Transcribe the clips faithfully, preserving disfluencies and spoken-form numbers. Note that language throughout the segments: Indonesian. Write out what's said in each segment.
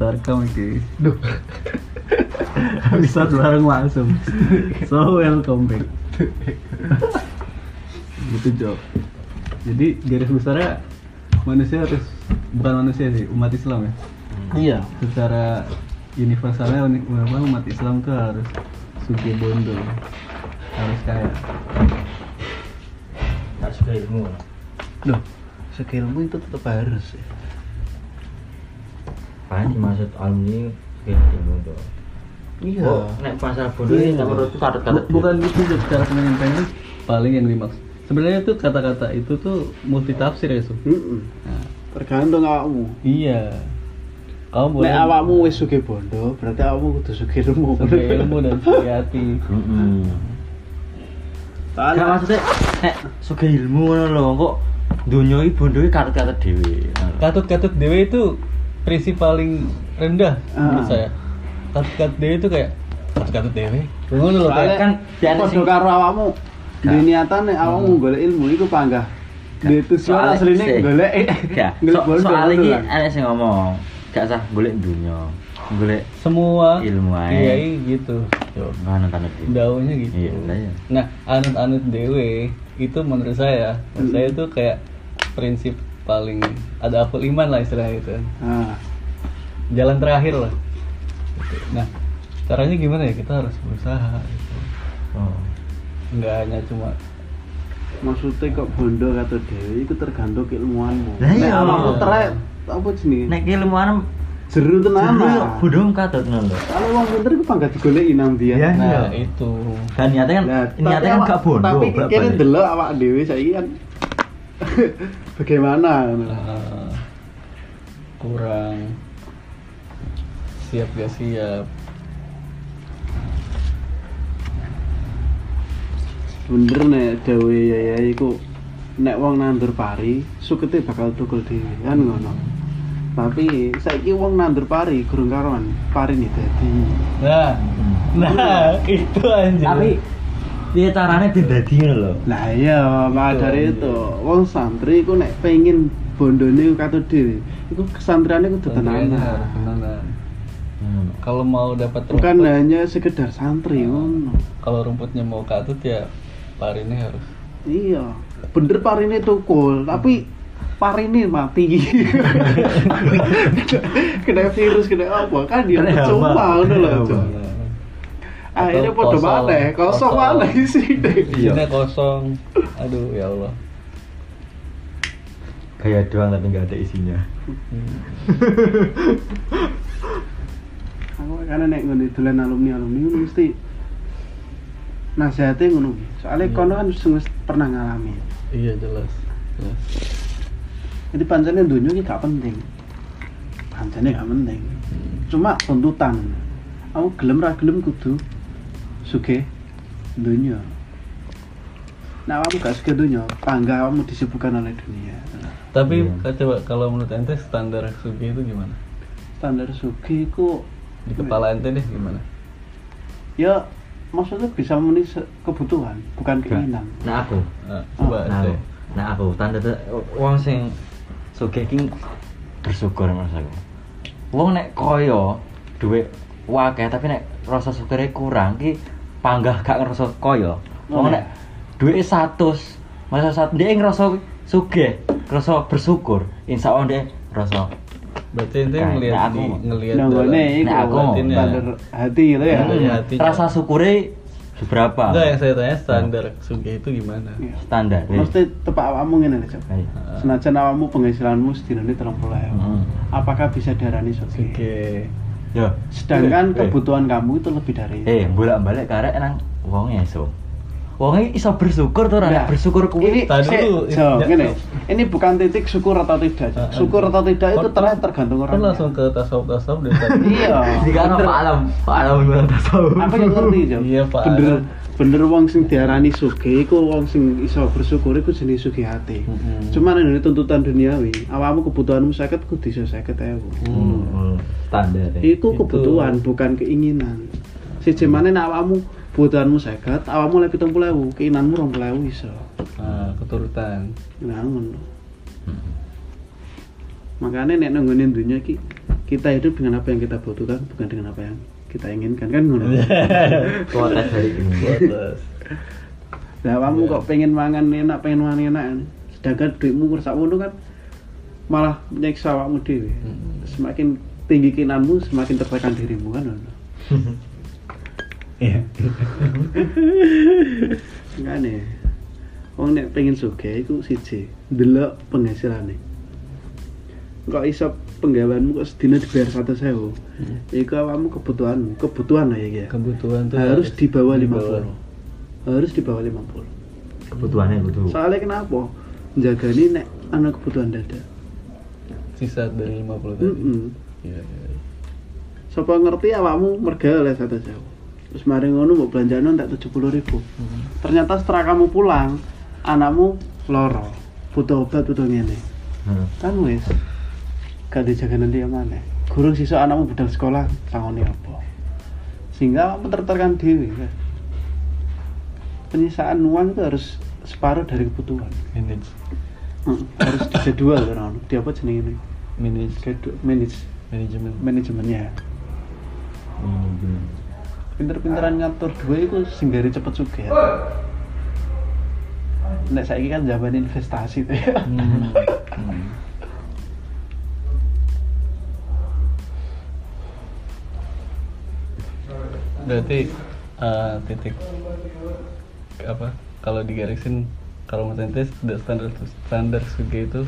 welcome iki. Duh. Bisa bareng langsung. So welcome back. Gitu Jo. Jadi garis besarnya manusia harus bukan manusia sih, umat Islam ya. Iya. Secara universalnya memang umat Islam tuh harus suki bondo, harus kaya. Tak suka ilmu. Loh, suka ilmu itu tetap harus ya. Apa yang dimaksud alumni suka ilmu tuh? Iya. Oh, nek masalah bodoh ini Iya. menurutku kata-kata Bu- bukan gitu Jo, cara penyampaiannya paling yang dimaksud. Sebenarnya tuh kata-kata itu tuh multi tafsir ya, Su. Heeh. Nah, Tergantung awakmu. iya. Kamu boleh Nek awakmu wis sugih bondo, berarti awakmu kudu sugih ilmu. suki ilmu dan suki hati. Heeh. Gak Soalnya maksudnya nek suka ilmu ngono lho, kok donya iki bondoe kata-kata dhewe. Katut-katut dewe itu prinsip paling rendah menurut Ah. saya. Katut-katut dewe itu kayak katut-katut dewe. Ngono lho soalnya kayak kan biar podo sing- karo awakmu. Gak. Di niatan nek awakmu golek ilmu iku panggah. Di tujuan Soalnya asline sih. golek Gak, golek so, bondo. soal iki kan. ada sing ngomong, gak usah golek dunya. Golek semua ilmu ae. iya iya, gitu. Yo. ngono kan iki. Daunya gitu. Iya, lah ya. Nah, anut-anut dewe itu menurut saya, menurut Hmm. saya itu kayak prinsip paling ada akul iman lah istilahnya itu. Nah, Jalan terakhir lah. Gitu. Nah, caranya gimana ya? Kita harus berusaha. Gitu. Oh. Nggak hanya cuma maksudnya kok bondo kata dewe iku tergantung keilmuanmu. Lah Nek iya. awakmu trek apa jenenge? Nek ilmuan Jeru tenan. Jeru yo ah. bodho katut ngono lho. Kalau wong pinter iku panggah digoleki nang dia. Iya. nah itu. Dan niatnya kan Nah, niatnya tapi kan awak- gak bodoh. Tapi bak- kene balik. delok awak dhewe saiki kan bagaimana ngono. Uh, kurang siap gak siap. Bener nek dewe ya iku nek wong nandur pari sukete bakal tukul dhewe kan ngono. Tapi saiki wong nandur pari gurung karuan parine dadi. Nah, nah itu anjir. Tapi piye carane ben dadi ngono lho. Lah iya, maka Betul, dari iya. itu wong santri iku nek pengin bondone katut dhewe, iku kesantriane kudu Tentunya tenanan. harus tenanan. Hmm. Kalau mau dapat Bukan rumput, hanya sekedar santri ngono. kalau rumputnya mau katut ya parinnya harus. Iya, bener parine tukul, tapi parine mati. Kena virus, kena apa? Kan dia Kena percuma hama. ngono lho. Kena Cuk. hama. Akhirnya Atau podo kosong. maneh, kosong Kosong. maneh isi deh. Isinya kosong. Aduh ya Allah. Kayak doang tapi nggak ada isinya. Hmm. Aku karena nek ngene dolan alumni-alumni ngono mesti nasihate ngono. Soalnya Iya. kono kan wis pernah ngalami. Iya jelas. Jelas. Jadi pancene dunia ini gak penting. Pancene gak penting. Cuma tuntutan. Aku gelem ra gelem kudu sugih dunia. Nah, kamu gak sugih dunia, bangga kamu disibukkan oleh dunia. Tapi Iya. coba kalau menurut ente standar sugi itu gimana? Standar sugih iku Di kepala ente deh gimana? ya maksudnya bisa memenuhi se- kebutuhan, bukan keinginan. Nah aku, Nah, coba nah ente. aku, nah aku tanda wong sing sugih ki bersyukur mas aku. Wong nek koyo duit wakeh tapi nek rasa syukure kurang ki panggah gak ngerasa koyo. Wong Oh, nek duit seratus, masa saat dia ngerasa sugih, ngerasa bersyukur, insya Allah dia ngerasa Berarti ente Nah, ngelihat nah, di aku- ngelihat Nah, dalam- gue Nah, aku mau. batinnya. standar hati gitu ya. Iya, iya. hatinya. rasa syukure seberapa? Enggak, yang saya tanya standar sugi itu gimana? Iya. Standar. weh. Mesti tepak awakmu ngene lho, Cok. Ayo. Senajan awakmu penghasilanmu sedinane tiga puluh ribu. Hmm. Apakah bisa diarani sugih? Sugi. Yo. Sedangkan Eh, kebutuhan kamu itu lebih dari itu. Eh, bolak-balik karek nang wong iso. Wong iso bersyukur tuh, Nah, ora bersyukur Ini kuwi. Tadi sik, dulu, Jo, ya, ngene. Jo. Ini bukan titik syukur atau tidak. Ah, Cok. ah. Syukur atau tidak itu Kan- ternyata tergantung Kan orang. langsung ke tasawuf-tasawuf deh tadi. Iya. Jika ana bener. Pak Alam, Pak Alam gimana tasawuf. Aku yang ngerti, Jo. Iya, Pak Bener Alam. bener wong sing diarani sugih iku wong sing iso bersyukur iku jenis sugih hati. Mm-mm. Cuman ini tuntutan duniawi, awakmu kebutuhanmu seket kudu iso seket ewu. Hmm, hmm, standar. ya. Iku Itu. kebutuhan bukan keinginan. Siji maneh nek awakmu kebutuhanmu seket, awakmu lek pitung puluh ewu, keinginanmu rong puluh ewu iso. Nah, keturutan. Nah, ngono. Hmm. Makanya nek nang nggone dunya iki kita hidup dengan apa yang kita butuhkan, bukan dengan apa yang kita inginkan, kan ngono. Kuotas dari ini. Kuotas. Lah kamu kok pengen mangan enak, pengen mangan enak, sedangkan duitmu rusak ngono kan malah nyiksa awakmu dhewe. Hmm. Semakin tinggi keinginanmu, semakin tertekan dirimu kan ngono. Iya. Ngene. Wong nek pengen sugih iku siji, ndelok penghasilanane. Kok iso penggaweanmu kok sedina dibayar seratus ribu. Hmm. Iku awakmu kebutuhanmu, kebutuhan lah ya iki. Kebutuhan tuh harus di bawah di lima bawah. puluh. Harus di bawah lima puluh. Kebutuhannya butuh. Soalnya kenapa? Jagani nek ana kebutuhan dadak. Sisa dari lima puluh tadi. Heeh. Iya, iya. Sapa ngerti awakmu merga oleh seratus ribu. Terus mari ngono mbok belanjano tak tujuh puluh ribu. Hmm. Ternyata setelah kamu pulang, anakmu loro, butuh obat, butuh ngene. Hmm. Kan wis gak dijaga nanti yang mana. Gurung sisuk anakmu budal sekolah, sangone apa. Sehingga awakmu tertekan dhewe kan. Penyisaan uang itu harus separuh dari kebutuhan. Manage. Hmm, harus dijadwal kan. Di apa jenenge ini? Manage. Schedule, manage, Manajemen. manajemennya. Hmm. Pinter-pinteran ngatur duit itu singgari cepet sugih. Ya. Nek saiki kan zaman investasi tuh ya. Hmm. Hmm. Berarti uh, titik apa? Kalau digarisin kalau menurut ente standar standar sugih itu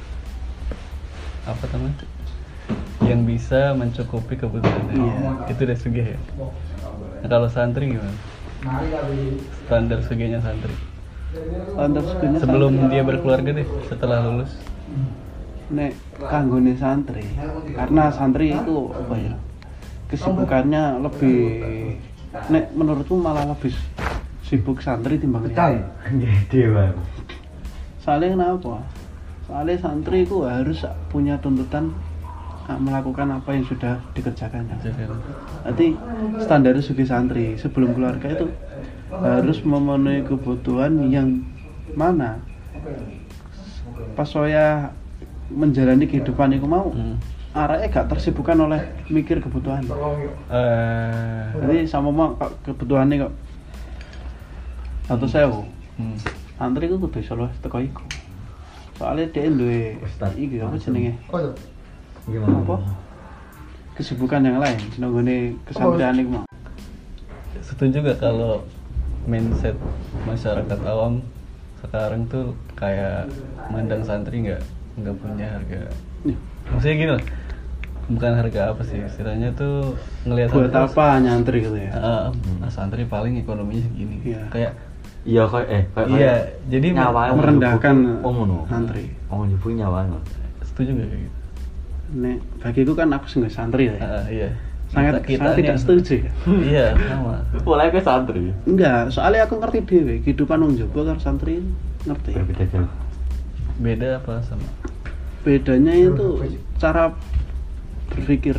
apa namanya? Yang bisa mencukupi kebutuhannya. Iya. Itu udah sugih ya. Nah, kalau santri gimana? Standar sugihnya santri. Standar sugihnya Sebelum santri. dia berkeluarga deh, setelah lulus. Nek kanggone santri, karena santri itu apa ya? Kesibukannya lebih, nek menurutku malah lebih sibuk santri timbang liya. Dewa. Soalnya kenapa? Soalnya santri itu harus punya tuntutan ah, melakukan apa yang sudah dikerjakannya. Nanti standar sugih santri sebelum keluarga itu harus memenuhi kebutuhan yang mana pas saya menjalani kehidupan itu mau Hmm. arahnya gak tersibukkan oleh mikir kebutuhan. Eh, Jadi sama mau kebutuhannya kok satu sewu. hmm. Santri itu kudu iso luwih teko iku. Soalnya dia duwe Ustaz. iki apa jenenge? Gimana? Apa? Kesibukan yang lain, senenggone kesantrian iku mau. Setuju gak kalau mindset masyarakat awam sekarang tuh kayak mandang santri nggak nggak punya harga? Nih, Maksudnya gini lah, bukan harga apa sih, istilahnya tuh ngelihat buat santri, apa nyantri gitu ya? ah, ah, santri paling ekonominya segini. Iya. Kayak Iya kayak eh kayak iya, jadi nyawa merendahkan ngono. santri. Oh nyebut nyawa. setuju gak kayak gitu? Nek bagiku kan aku sing santri ya. Ah, iya. Sangat Kita- sangat kita tidak nih- setuju ya. Iya, sama. Mulai ke santri. Enggak, soalnya aku ngerti dhewe kehidupan wong Jawa karo santri ngerti. Berbeda jauh. Beda apa sama? Bedanya itu cara berpikir.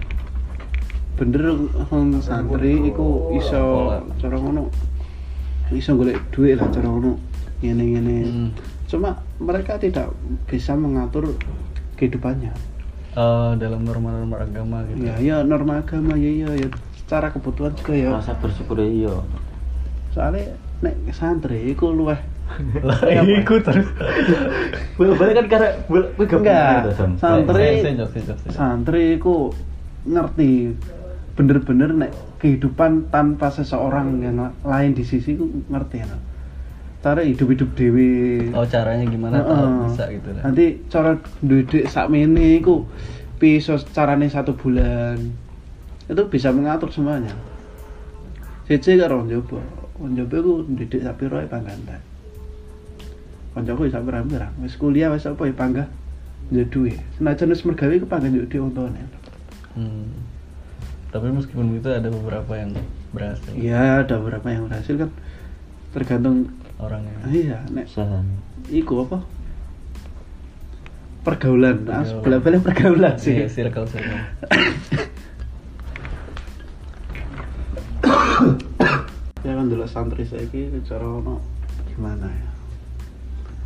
Bener wong santri iku iso cara ngono. Iso golek duit lah cara ngono. Ngene-ngene. Hmm. Cuma mereka tidak bisa mengatur kehidupannya. Eh, dalam norma-norma agama gitu. Ya, ya norma agama ya ya ya secara kebutuhan juga ya. Rasa bersyukur ya iya. Soalnya nek santri iku luweh Lah, ikut terus. Boleh kan karena boleh enggak. Santri Sejak, sejak, sejak. santri iku ngerti bener-bener nek kehidupan tanpa seseorang yang lain di sisi ku ngerti ya. Cara hidup-hidup dewi. Oh, caranya gimana Heeh. kalau bisa gitu lah. Nanti cara duit sakmene iku piso carane satu bulan. Itu bisa mengatur semuanya. Siji karo njoba. Njoba iku didik sak piro ae panggantan. Kancaku sak pirang-pirang. Wis kuliah wis apa ya panggah njuk duwe. Senajan wis mergawe ku panggah njuk duwe wong tuane. Hmm. Tapi meskipun itu ada beberapa yang berhasil. Iya, ada beberapa yang berhasil kan tergantung Orangnya. iya nek Usaha. iku apa? Pergaulan, nah, Pergaulan. bola-balik pergaulan sih. Iya, circle circle. Ya kan dulu santri saiki cara ono gimana ya?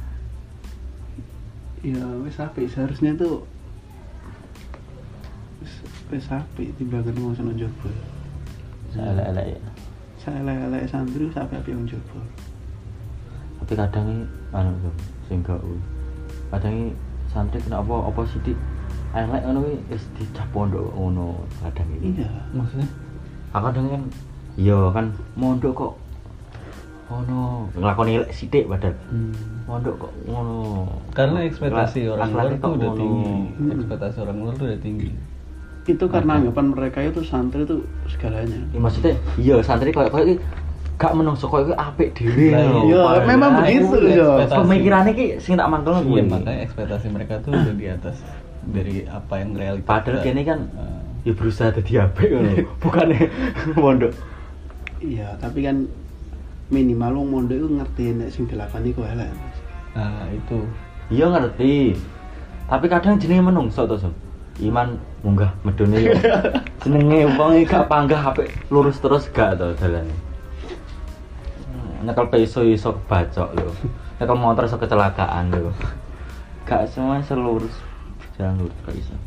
Ya wis apik seharusnya tuh wis wis apik timbangan wong sing njaba. Elek-elek ya. Saelek-elek santri sampe apik wong njaba. Tapi kadang ini anu tuh sing gak kuwi. Kadang ini santri kena apa apa sithik elek ngono kuwi wis dicap pondok ngono kadang iki. Iya. Maksudnya? Ah kadang kan iya kan mondok kok ngono nglakoni elek sithik padahal. Hmm. Mondok kok ngono. Karena ekspektasi Akhlak- orang luar akhlaknya tuh kok udah ngono. tinggi. Hmm. Ekspektasi orang luar tuh udah tinggi. Itu karena Ada. anggapan mereka itu santri itu segalanya. Ya, maksudnya iya santri koyo koyo iki gak menungso koyo iki apik dhewe Lah, lho. iya, Padahal memang itu begitu, ekspektasi. yo. Pemikirannya ki sing tak mangkelno Iya, kuwi. makanya ekspektasi mereka tuh udah di atas dari apa yang realitas. Padahal kene kan Eh, ya berusaha dadi apik ngono. Bukannya mondok. Iya, tapi kan minimal wong mondok itu ngerti nek sing dilakoni ku elek. nah itu. Iya ngerti. Tapi kadang jenenge menungso to, Sob. Iman munggah medune yo. Jenenge wong iki gak panggah apik lurus terus gak to dalane. Nyekel peso iso bacok lho. Nyekel motor iso kecelakaan lho. Gak semua selurus jalan lurus gak iso.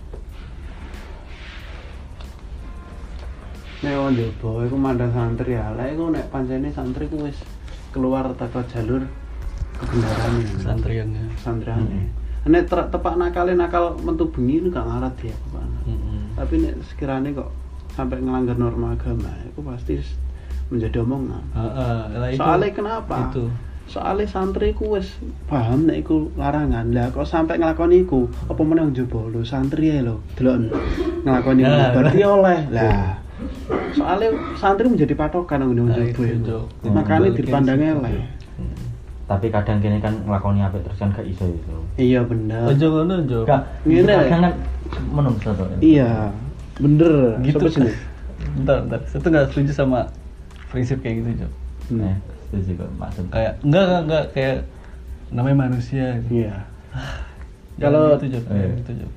Nek wong njaba iku mandang santri elek iku nek pancene santri ku wis keluar teko jalur kebenaran Santriannya. santriane. Nek ter- tepak nakale nakal mentu bengi itu gak ngarat dia Pak. Mm-mm. Tapi nek sekiranya kok sampai ngelanggar norma agama itu pasti s- menjadi omongan. Heeh, lah itu. Soalnya kenapa? Itu. Soalnya santri ku wis paham nek iku larangan. Lah kok sampai nglakoni iku, apa meneh wong njaba lho santri ae lho. Delok nglakoni Nah, nah, berarti oleh. Lah. Soalnya santri menjadi patokan wong Nah, njaba itu, itu. Jo. Makanya Balikin dipandang situ. elek. Hmm. Tapi kadang kene kan nglakoni apik terus kan gak iso iso. Iya bener. Ojo ngono, Jo. Gak Ngene. kadang kan menungso to. Iya. Bener. Gitu. Sampai sini. Bentar, bentar. Saya tuh nggak setuju sama prinsip kayak gitu, Jo. Hmm. Eh, setuju kok maksud. Kayak enggak enggak enggak kayak namanya manusia gitu. Iya. Jangan Kalau- gitu, Jo. Eh. Jangan gitu, Jo.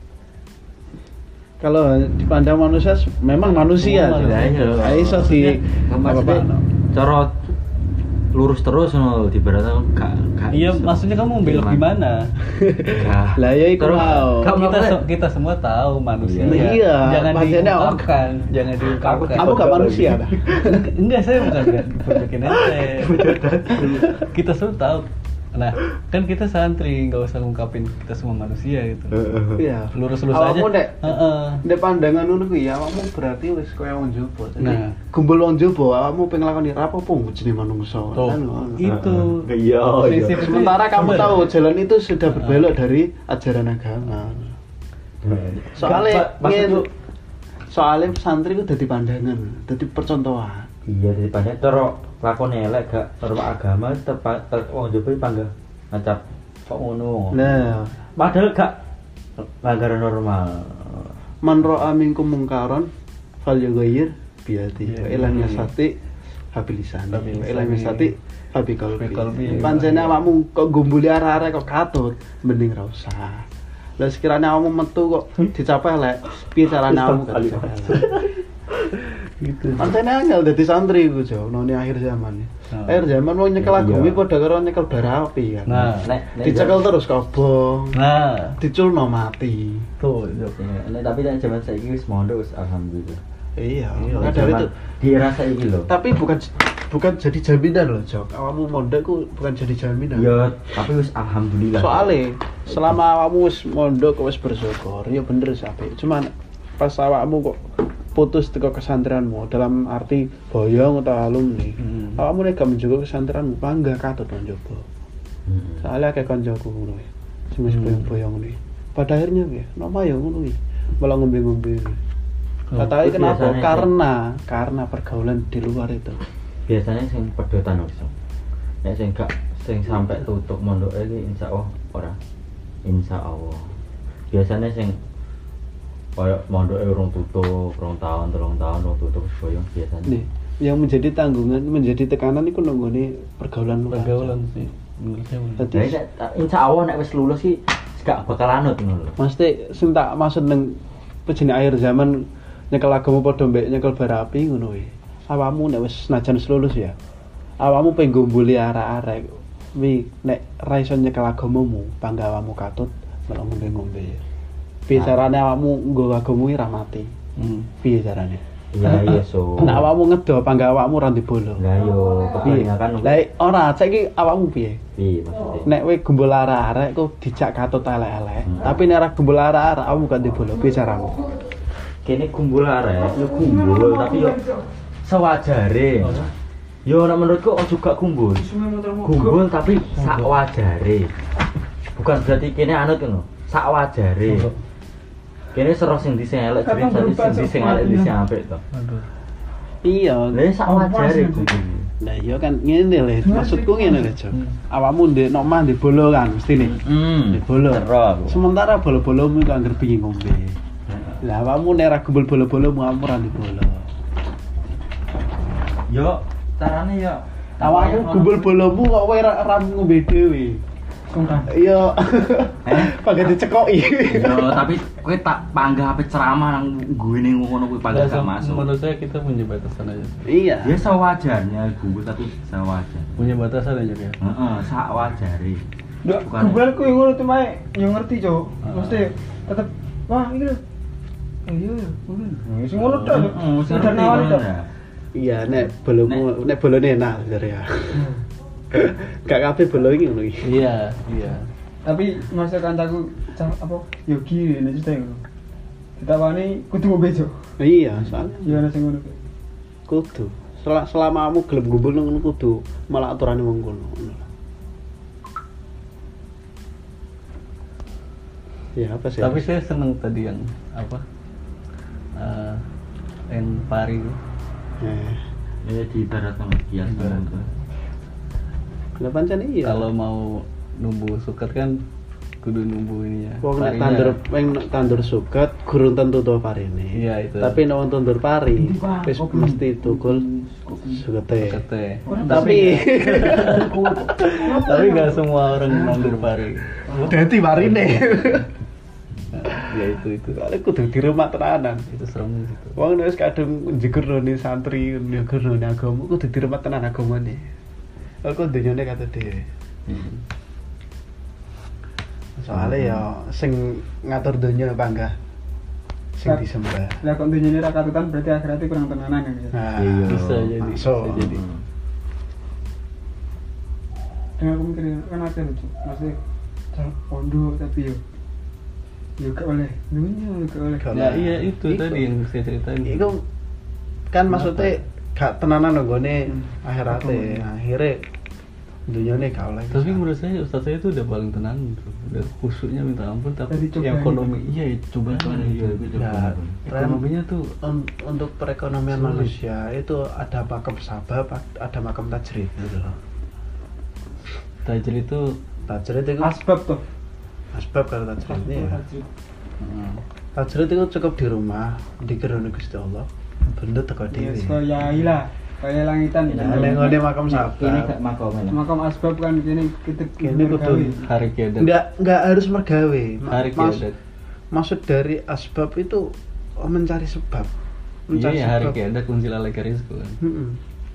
Kalau dipandang manusia memang manusia. Oh, sih. manusia. iya. Nah, iso sih. Maksudnya Apa-apa. cara lurus terus ngono di barat gak gak Iya, iso. maksudnya kamu belok gimana? Gak. Lah, ya iku Terus, mau. gak kita maksudnya- se- kita semua tahu manusia. Iya. Iya, Jangan maksudnya diungkapkan, jangan diungkapkan. Kamu gak manusia dah. Enggak, saya bukan gak diperbikin ente. Kita semua tahu. Nah, kan kita santri, nggak usah ngungkapin kita semua manusia gitu. Iya. Lurus-lurus aja. Awakmu nek Heeh. nek pandangan ngono kuwi ya awakmu berarti wis koyo wong njaba. Jadi Nah. gumbul wong njaba awakmu pengen lakoni ra apa-apa jenenge manungsa. Tuh, Kan ngono. itu. Iya, Prinsip itu Sementara kamu bener. tahu jalan itu sudah berbelok dari ajaran agama. Soalnya Gak, Pak, maksud ngene- lu- soalnya santri itu dadi pandangan, dadi percontohan. Iya daripada cara lakon elek gak norma agama tepat wong jopo panggah ngacap kok ngono. Nah, Padahal gak pelanggaran normal. man ra'a minkum mungkaron falyughayyir biyadi. Iya, Wa ilam iya. yastati habilisan. Habil Wa ilam lisani. yastati habiqalbi. Habiqalbi. Pancene awakmu kok gumbuli arek-arek kok katut, mending ra usah. Lah sekiranya awakmu metu kok dicapai lek, piye carane awakmu gak dicapai elek? Gitu. Pancene angel dadi santri iku Jo, none akhir zaman. Nah. Akhir zaman wong nyekel Iya. agumi padha karo nyekel bara api kan. Nah, Nek nek Dicekel terus kobong, Nah, diculno mati. tuh, Jo. Iya, nek tapi nek zaman saiki wis mondok wis alhamdulillah. Iya, Iya, maka dari Zaman itu. di era saiki lho. Tapi bukan bukan jadi jaminan loh, Jok. Awakmu mondok ku bukan jadi jaminan. Iya, tapi wis alhamdulillah. Soalnya selama awakmu wis mondok kok wis bersyukur, ya bener sih apik. Cuman pas awakmu kok putus teko kesantrenmu dalam arti boyong atau alumni. Hmm. Awakmu nek gak menjaga kesantrenmu, bangga katut nang njaba. Hmm. Soalnya kayak kancaku ngono ya. Sing wis Hmm. boyong-boyong nih. Pada akhirnya ya, nama ya ngono iki. Malah ngombe-ngombe. Oh, Kata itu kenapa? biasanya Karena karena pergaulan di luar itu. Biasanya sing pedotan wis. Nek sing gak sing sampai tutup mondok iki insyaallah ora. Insyaallah. Biasanya sing koyo mondoke urung tutup, rong tahun, telung tahun urung tutup wis boyong biasanya. Nih, yang menjadi tanggungan, menjadi tekanan itu nunggone pergaulan luar. Pergaulan sih. Menurut saya bener. Jadi, Jadi nek insyaallah nek wis lulus sih gak bakal anut ngono lho. mesti sing tak maksud nang pejene akhir zaman nyekel agama padha mbek nyekel bara api ngono kuwi. Awakmu nek wis senajan wis lulus ya. Awakmu pengen gomboli arek-arek. Wi nek ra iso nyekel agamamu, bangga awakmu katut malah ngombe-ngombe. Piye carane awakmu nggo agamamu ra mati. Hmm. Piye carane? Iya iya so. Nek awakmu ngedo apa enggak awakmu ra bolo? Lah yo Piye? kebanyakan Lah ora, saiki awakmu piye? piye maksudnya? Nek kowe gembul arek-arek kok dijak katut elek-elek. Hmm. Tapi nek ora gembul arek-arek awakmu gak bolo. Piye caramu? Kene kumpul arek, yo kumpul tapi yo sewajare. Yo ora menurutku ojo gak kumpul. Kumpul tapi sak wajare. Bukan berarti kene anut ngono. Sak wajare. Kene sero sing di sing elek, jadi sing di sing elek di sing apik to. Aduh. Iya. Lah sak wajare kumpul. Nah iya kan ngene lho, maksudku ngene lho, Cok. Hmm. Awakmu ndek nok mah ndek bolo kan mesti nih. Hmm. Ndek bolo. Cero aku. Sementara bolo-bolomu iku anggere pingin ngombe. Lah awakmu nek ra gembul bolo-bolomu awakmu ra ndek bolo. Yo carane yo Awakmu gembul bolomu kok kowe ra ra ngombe dhewe. Sungkan. Iya. Eh? Pakai dicekoki. Yo tapi kowe tak panggah ape ceramah nang guene ngono kuwi panggah gak masuk. Menurut saya kita punya batasan aja. Iya. Ya sewajarnya gugur tapi sewajar. Punya batasan aja ya. Heeh, sak wajare. Ndak, Bukan. kebalku yang ngono tuh mae, yang ngerti, Cok. Ah. Mesti tetep wah iki lho. Oh iya, ngono. Sing ngono tok. Heeh, sing Udah ngerti nawari ngono tok. dah. Iya nek bolomu nek bolone enak jare ya. Gak kabeh bolo iki ngono iki. Iya, iya. Tapi masa kancaku cah apa? Yogi ini cerita ngono. Ditawani kudu ngombe, Cok. Iya, soalnya Ya ana sing ngono. kudu. Sel- Selama kamu gelem gumbul nang ngono kudu malah aturane wong kono. Ngono. Ya apa sih? Tapi saya seneng tadi yang apa? Eh, yang pari. eh, Ya di barat sama kias Ibarat. lah pancen iya. Kalau mau numbu suket kan kudu numbu ini ya. wong nek parinya. tandur wong nek tandur suket gurung tentu to parine. Iya, itu. Tapi nek wong tandur pari Endi, Pak? wis Kopi. mesti tukul sukete. Sukete. Tapi Tapi nggak semua orang nandur pari. dadi parine. Ya itu itu. Soalnya kudu diremak tenanan. Itu serem gitu. Wong nek wis kadung njegurne santri, njegurne agama kudu diremat tenan agamane. Aku dunyane kata dhewe. Soalnya ya sing ngatur donya apa enggak? Sing Sak- disembah. Lah kok dunyane ra katutan berarti akhiratnya kurang tenanan kan. Ya? Nah, Iya. Bisa jadi. masuk. Bisa jadi. Dengan aku mikir kan ada lho, Cok. Maksudnya cah pondok tapi yo yo gak oleh dunya gak oleh. Gak Ya oleh. iya itu Iku. tadi yang saya ceritain. Iku kan maksudnya gak tenanan nggone Hmm. akhirate. Akhire dunyane gak oleh. Tapi menurut saya ustadz saya itu udah paling tenang gitu. Udah khusyuknya minta ampun tapi Tadi coba ekonomi iya coba Iya, itu coba. Nah, ekonominya tuh Un- untuk perekonomian Sulit. manusia itu ada makam sabab, ada makam tajrid gitu loh. tajir itu Tajrid itu Asbab tuh. asbab kalau tajrid ini ya. hmm, Tajrid itu cukup di rumah, dikirone Gusti Allah. Benda teko Ya dhewe. kaya ilah, kaya langitan. Nah, nek ngene makam Ini sabab. gak makome. Makam asbab kan kene kita Kene kudu hari kiadat. Enggak enggak harus mergawe. Ma- Hari mas- kiadat. Maksud dari asbab itu oh, mencari sebab. Mencari Iya hari sebab. kiadat kunci lalai rizku kan. Heeh.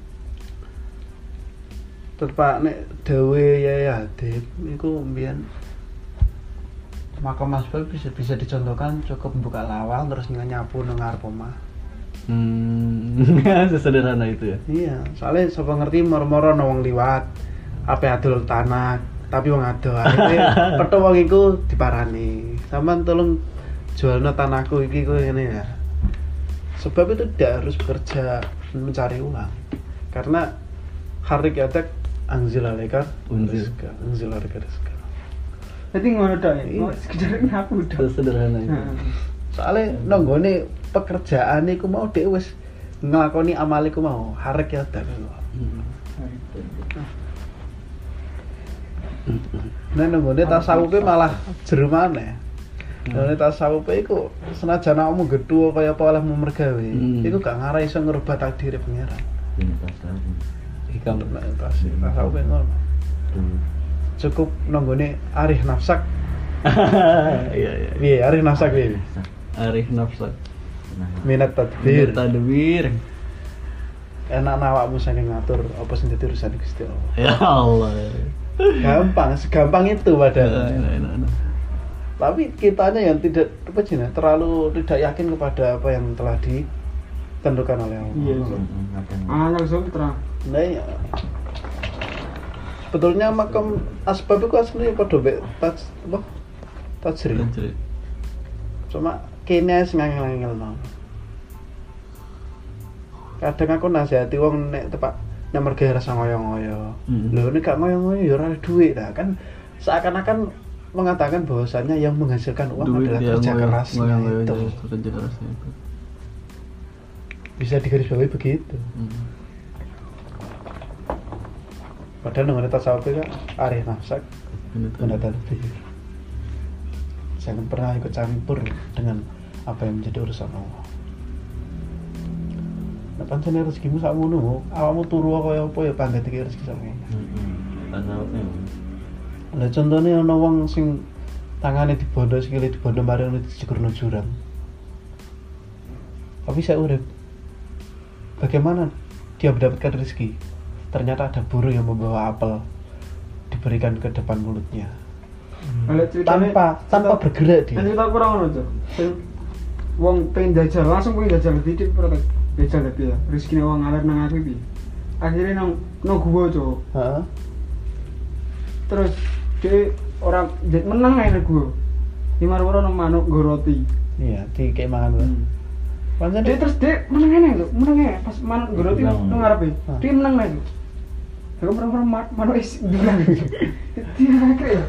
Tepak nek dawe Yai Hadid niku mbiyen makam asbab bisa bisa dicontohkan cukup buka lawang terus nyapu nang ngarep omah. Hmm, sesederhana itu ya. Iya, soalnya sapa ngerti moro-moro ana wong liwat ape adol tanah, tapi wong ado akhirnya petho wong iku diparani. Sampeyan tolong jualno tanahku iki kowe ngene ya. Sebab itu tidak harus bekerja mencari uang. Karena hari kiadat anzil alaika Unzil. rizqa, anzil alaika rizqa. Jadi ngono tok ya. Iya. Oh, sekedar nyapu tok. Sesederhana itu. Heeh. Soalnya nanggone pekerjaan iku mau dhek wis nglakoni amal iku mau hari kiadat. Hmm. Nah, nanggone tasawufe malah jero maneh. Nanggone tasawufe iku senajan awakmu gedhu kaya apa oleh mergawe, Hmm. iku gak ngarah iso ngerubah takdir pangeran. Ini pas tahu. Hikam. Nah, tasawufe ngono. Cukup nanggone arih nafsak. Iya iya. Piye arih nafsak piye? Arif nafsak. Nah, Minat tadbir. Tadbir. Enak awakmu saking ngatur apa sing dadi urusan Gusti Allah. Ya Allah. Gampang, segampang itu Enak, padahal. enak, enak. Tapi kitanya yang tidak apa sih, nah, terlalu tidak yakin kepada apa yang telah ditentukan oleh Allah. Iya. Angel sutra. Nah, iya. Sebetulnya makam asbab itu aslinya pada mek taj apa? Tajri. Tajri. Cuma kene sing angel-angel no. Kadang aku nasihati wong nek tepak nek mergo rasa ngoyo-ngoyo. Mm. Lho nek gak ngoyo-ngoyo ya ora ada duit lah kan seakan-akan mengatakan bahwasannya yang menghasilkan uang Duit adalah yang kerja ngoyo- kerasnya ngoyo-ngoyo itu. aja, kerja kerasnya itu. Bisa digarisbawahi begitu. Hmm. Padahal dengan tasawuf itu kan arif nafsak Bener tuh. mendatar pikir. Jangan pernah ikut campur dengan apa yang menjadi urusan Allah. Nah, pancen rezekimu sak ngono, awakmu turu kaya apa ya pangkat iki rezeki sak ngono. Heeh. Tasawufnya. Lah contohnya ana wong sing tangane dibondo sikile dibondo mari ngono dijekurno jurang. Tapi saya urip. Bagaimana dia mendapatkan rezeki? Ternyata ada burung yang membawa apel diberikan ke depan mulutnya. Kalau ceritanya Tanpa tanpa bergerak dia. Cerita kurang ngono, Cuk. Sing wong pengen jajal langsung pengen jajal titik protek. Jajal tapi ya. Rezekine wong ngalir nang aku iki. Akhirnya nang nang gua, Cuk. Heeh. Terus dia orang jet menang aja gua. Di marwara nang manuk nggo roti. Iya, di kayak mangan. Hmm. Pancen Dia terus dia menang aja lho, menang aja pas manuk nggo roti Menang. nang ngarepe. Hah. Dia menang aja. Aku pernah pernah manuk is bilang. Dia kayak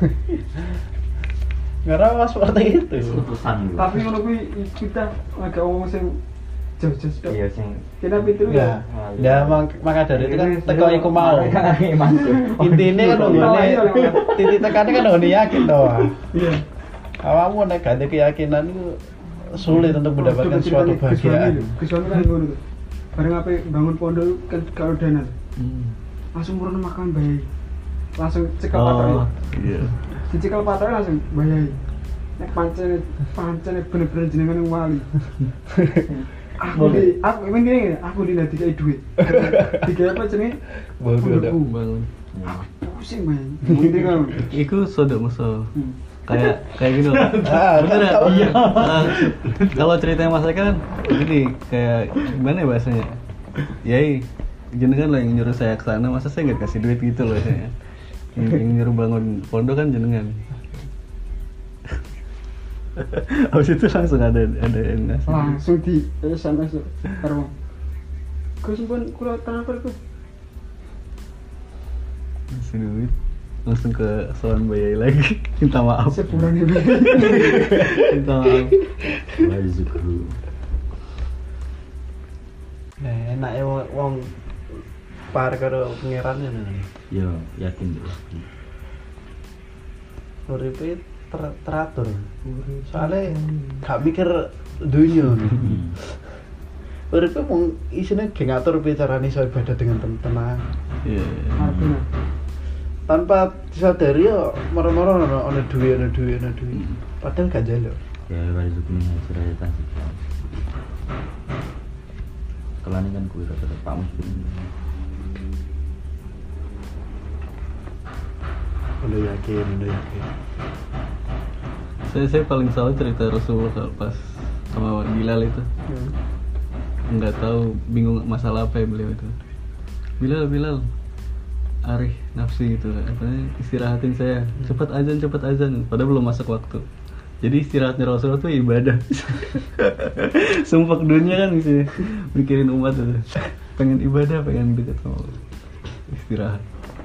Karena seperti itu. Putusan gitu. tapi ngono kuwi kita agak ngomong sing jauh-jauh tok. Iya sing Kita pitu Ya, ya. ya mak- maka dari itu kan Ini teko iku mau. Masuk. Intinya kan Oh, nggone iya, iya. titik tekannya kan nggone yakin toh. Iya. Awakmu nek gak ada keyakinan itu sulit untuk mendapatkan suatu kebahagiaan. Kesuami kan ngono tuh. Bareng apa bangun pondok kan kalau dana Hmm. langsung murun makan bayi. Langsung cekel Oh, patok. iya. Dicekel patok langsung bayi. Nek pancene pancene bener-bener jenengan yang wali. Aku di aku emang gini, aku di nanti kayak duit. Tiga apa jenenge? Bodoh dah. Pondokku. Bangun. Aku pusing man. Mungkin kan. Iku soda musuh. Hmm. Kayak kayak gini loh. Ah, Bener ya? tahu. Iya. Nah, kalau ceritanya Mas Eka kan gini, kayak gimana ya bahasanya? Yai, jenengan lah yang nyuruh saya ke sana, masa saya nggak kasih duit gitu loh saya. Yang, yang nyuruh bangun pondok kan jenengan. Habis itu langsung ada ada yang ngasih. Langsung di S M S karo. Gus pun kula transfer Gus. Ngasih duit. Langsung ke Soan Bayai lagi. Minta maaf. Sebulan ini. Minta maaf. Wah, zikru. Nah, enake wong wong par karo pangerannya nih. Yo, yakin deh. Uripe ter- teratur. Soalnya gak mikir dunia. Hmm. Uripe mung isine ge ngatur piye carane iso ibadah dengan ten- tenang. Iya. Artinya Tanpa disadari yo moro-moro ono ono duwe ono duwe ono duwe. Padahal gak njaluk. Ya, wali zikru ngajar aja tasik. Kelani kan kuwi rada Pak Muslim. Udah yakin, udah yakin. Saya saya paling salah cerita Rasulullah kalau pas sama Bilal itu. Nggak tahu, bingung masalah apa ya beliau itu. Bilal, Bilal, arih nafsi gitu, katanya istirahatin saya, cepat azan, cepat azan, padahal belum masuk waktu. Jadi istirahatnya Rasulullah tuh ibadah. Sumpah dunia kan gitu, mikirin umat itu, pengen ibadah, pengen dekat sama Allah. Istirahat.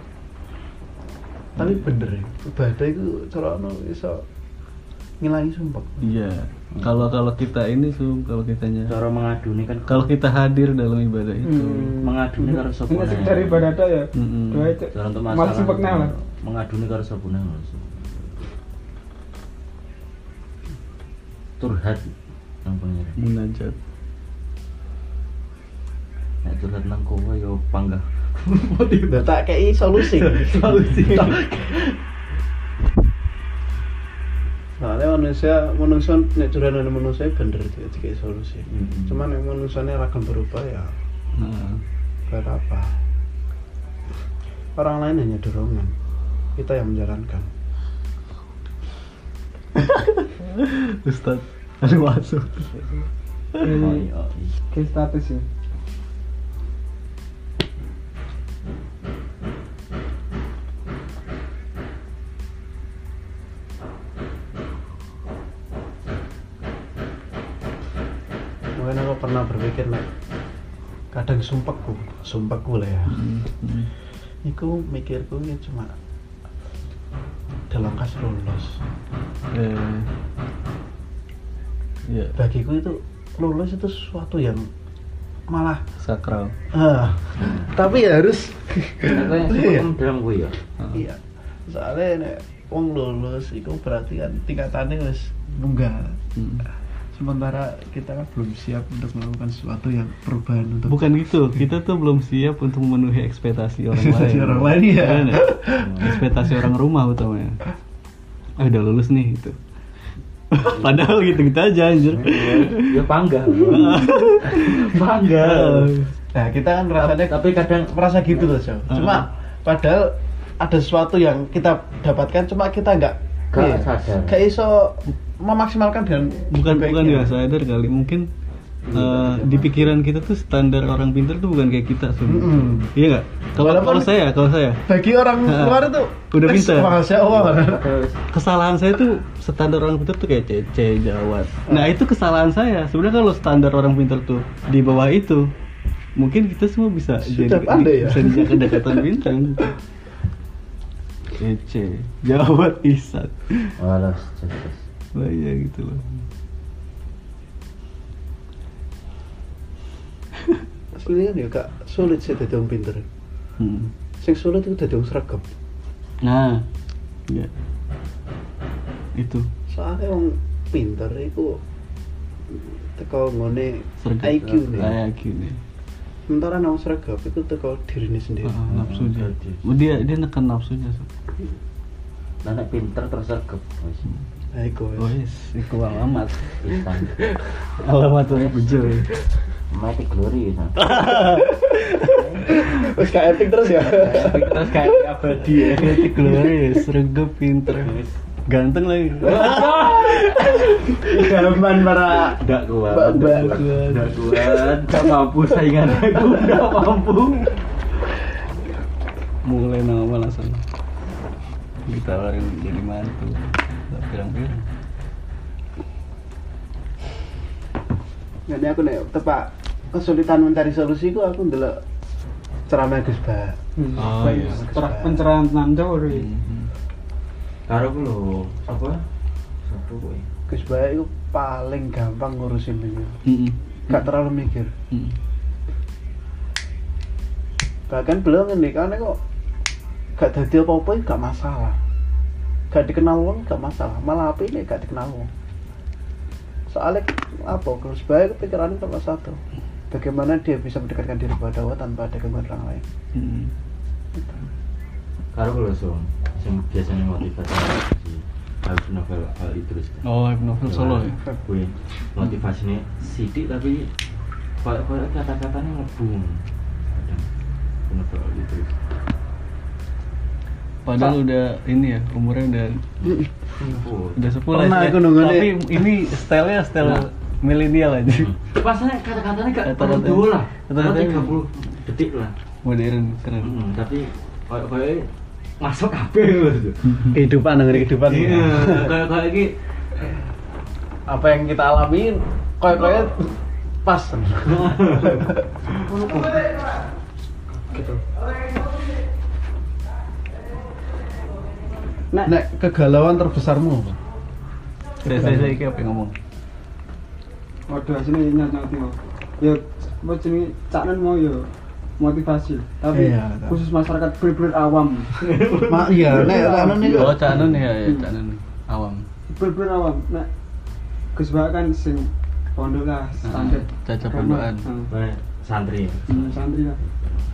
Tapi bener ya, ibadah itu cara ono iso ngilangi sumpah. Iya. Kalau kalau kita ini sum, kalau kitanya, Cara mengaduni kan kalau kita hadir dalam ibadah itu, Hmm. mengaduni karo sapa. ini sekedar ibadah tok ya. Mm-mm. Doa itu. Cara untuk Malah masalah sempet nang. mengaduni karo sapa nang langsung. Turhat nang pangeran. munajat. Nek turhat nang kowe yo panggah. Udah tak kei solusi. Solusi. Soalnya manusia, manusia nek curhat nang manusia bener itu kayak solusi. Mm-mm. Cuman nek manusianya ragam berubah ya Nah, buat apa? Orang lain hanya dorongan, kita yang menjalankan. Ustad ada masuk. Ini ke status ya. Mungkin aku pernah berpikir nek kadang sumpahku, sumpahku lah ya. Hmm. Iku mikirku ya cuma dalam kas lulus. Eh. Ya, Bagiku itu lulus itu sesuatu yang malah sakral. ah, tapi ya harus Aku yang Iya. suka dalam gue ya. iya. Soalnya nek wong lulus itu berarti kan tingkatannya wis munggah. Hmm. Sementara kita kan belum siap untuk melakukan sesuatu yang perubahan untuk Bukan gitu, kita tuh belum siap untuk memenuhi ekspektasi orang Ekspektasi lain. orang lain, ya. Iya nggak? Ekspektasi orang rumah utamanya. Ah udah lulus nih gitu. Padahal gitu-gitu aja anjir. Ya bangga. Bangga. Nah, kita kan rasanya Tapi kadang merasa gitu loh, Cok. Cuma padahal ada sesuatu yang kita dapatkan cuma kita nggak Nggak iya, sadar. nggak iso memaksimalkan dengan bukan bukan baiknya. nggak sadar kali mungkin eh, di pikiran kita tuh standar orang pintar tuh bukan kayak kita sebenarnya. Mm-mm. Iya nggak? Kalau Walaupun- kalau saya kalau saya Bagi orang Nah, luar itu udah "Wes, pintar." Masya Allah. terus kesalahan saya tuh standar orang pintar tuh kayak C C Jawat. Nah itu kesalahan saya. Sebenarnya kalau standar orang pintar tuh di bawah itu, mungkin kita semua bisa Sudah jadi pandai ya? bisa dijadikan kedekatan bintang. C C Jawat Isat. walas jelas. Lah iya gitu loh. Aslinya ya kak sulit sih jadi orang pinter. Hmm. Sing sulit itu jadi orang seragam. Nah, ya itu Soalnya orang pinter itu teko ngone sergap I Q nih. Ah, I Q nih. Sementara orang seragam itu teko dirinya sendiri. Ah, nafsunya. jadi. Dia dia nekan nafsunya. Sob. Nah, nek pinter terus sergap. Wis. Nah, iku wes. Oh yes, iku alamat. Pisang. Alamat orang bejo. Mati glory ya. Wes kayak epic terus ya. Terus kayak abadi ya. Itu glorious, sergap pinter. Ganteng lagi. Zaman para Enggak kuat. Mbak-mbak. Enggak kuat. Enggak mampu saingan aku. Enggak mampu. Mulai nama langsung ditawarin jadi mantu. Tak pirang-pirang. Jadi aku nek tepak kesulitan mencari solusi ku aku ndelok ceramah Gus Ba. Oh, iya. Cerah pencerahan tentang cowok deh. Mhm. Karo ku lho, apa? Satu kowe. Gus Ba itu paling gampang ngurusin dunia. Mhm. Gak terlalu mikir. Mhm. Bahkan beliau ngendikan kok gak dadi apa-apa itu gak masalah. Gak dikenal wong gak masalah, malah apa ini gak dikenal wong. Soalnya apa? Gus Ba itu pikirannya cuma satu. Bagaimana dia bisa mendekatkan diri kepada Allah tanpa ada gangguan orang lain. Mhm. Karo ku lho, Sung. Sing biasanya motivasi si Habib Novel Al Idrus. Oh, Habib Novel Solo ya. Kuwi motivasinya sidik tapi koyo-koyo kata-katanya ngebum. Kadang Novel Al Idrus. Padahal udah ini ya, umurnya udah Oh. udah sepuluh Pernah lah. aku nunggu Tapi nih. ini stylenya style Nah. milenial aja. Pasnya kata-katanya gak Kata-kata- terlalu dulu lah. kata-kata- tiga puluh detik lah. Modern, keren. Hmm, tapi koyo-koyo masuk kabeh gitu. Kehidupan dengan kehidupan. Iya, kayak-kayak iki Apa yang kita alami kayak-kayak pas. Gitu. Nek Nek kegalauan terbesarmu apa? Saya saya saya iki apa yang ngomong? waduh sini nyat-nyati mau. Ya apa jenenge caknen mau ya motivasi. Tapi Iya, tak. khusus masyarakat bener-bener awam. Mak iya, nek anu nih Oh, Cak Nun ya, ya Cak Nun awam. Bener-bener awam. Nek Gus Ba kan sing pondok lah standar. Caca Agama. pondokan. Hmm. kayak santri. Hmm, santri lah.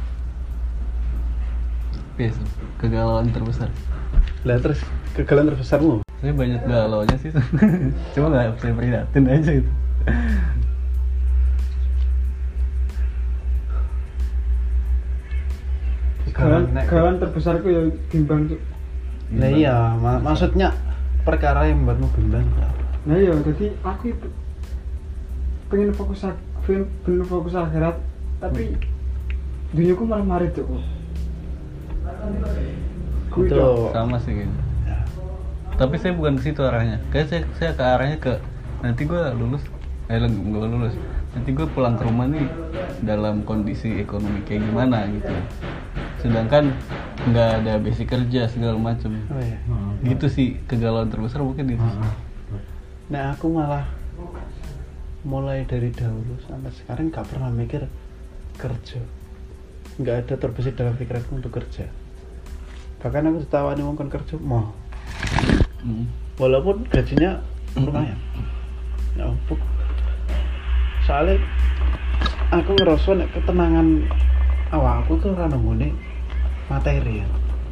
Yes, kegalauan terbesar. Lah terus kegalauan terbesarmu. Saya banyak galaunya sih. Cuma nggak saya prihatin aja gitu. Gawan gawan terbesarku ya bimbang tuh. Lah iya, ma- maksudnya perkara yang membuatmu bimbang itu apa? Nah iya, jadi aku itu pengen fokus ak- pengen, pengen fokus akhirat, tapi duniaku malah marit tuh. Kuwi Itu dong. Sama sih gitu. Tapi saya bukan ke situ arahnya. Kayak saya saya ke arahnya ke nanti gue lulus, eh gue lulus. Nanti gue pulang ke rumah nih dalam kondisi ekonomi kayak gimana gitu. Sedangkan nggak ada basic kerja segala macam. oh iya. Gitu sih kegalauan terbesar mungkin itu. Nah aku malah mulai dari dahulu sampai sekarang nggak pernah mikir kerja, nggak ada terbesit dalam pikiranku untuk kerja. Bahkan aku ditawani wong kon kerja mau, Hmm. walaupun gajinya lumayan. Ya ampun. Soalnya aku ngerasa nek ketenangan awakku tuh ora nggone materi ya.